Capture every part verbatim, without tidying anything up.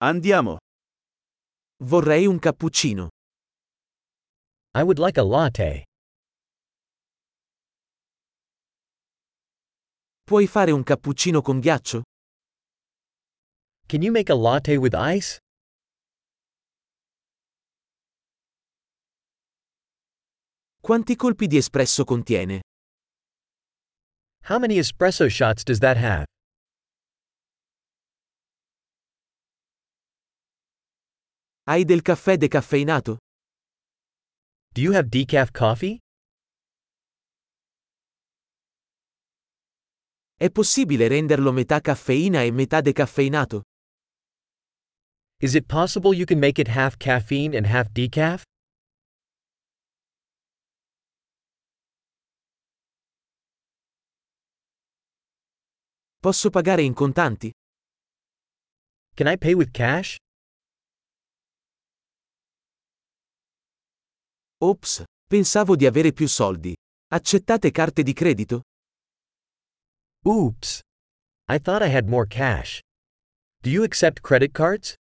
Andiamo. Vorrei un cappuccino. I would like a latte. Puoi fare un cappuccino con ghiaccio? Can you make a latte with ice? Quanti colpi di espresso contiene? How many espresso shots does that have? Hai del caffè decaffeinato? Do you have decaf coffee? È possibile renderlo metà caffeina e metà decaffeinato? Is it possible you can make it half caffeine and half decaf? Posso pagare in contanti? Can I pay with cash? Ops, pensavo di avere più soldi. Accettate carte di credito? Oops. I thought I had more cash. Do you accept credit cards?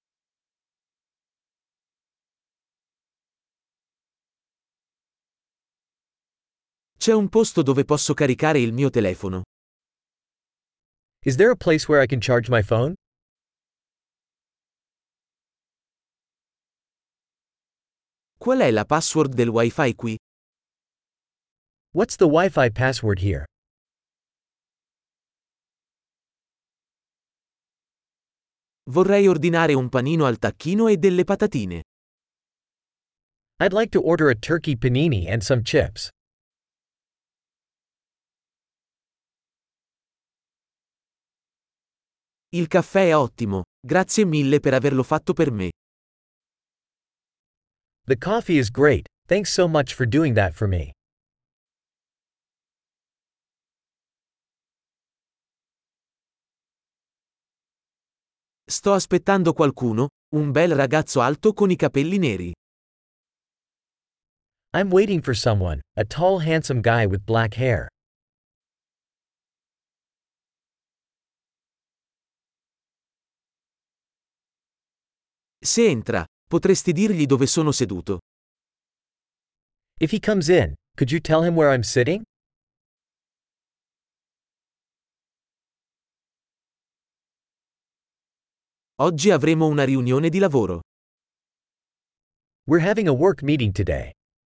C'è un posto dove posso caricare il mio telefono. Is there a place where I can charge my phone? Qual è la password del Wi-Fi qui? What's the Wi-Fi password here? Vorrei ordinare un panino al tacchino e delle patatine. I'd like to order a turkey panini and some chips. Il caffè è ottimo, grazie mille per averlo fatto per me. The coffee is great, thanks so much for doing that for me. Sto aspettando qualcuno, un bel ragazzo alto con i capelli neri. I'm waiting for someone, a tall handsome guy with black hair. Se entra, potresti dirgli dove sono seduto. If he comes in, could you tell him where I'm sitting? Oggi avremo una riunione di lavoro. We're having a work meeting today.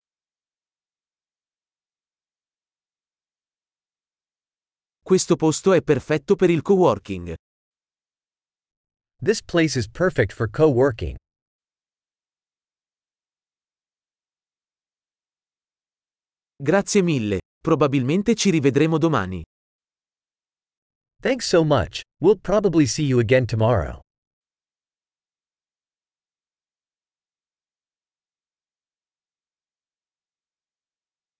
Questo posto è perfetto per il coworking. This place is perfect for co-working. Grazie mille, probabilmente ci rivedremo domani. Thanks so much, we'll probably see you again tomorrow.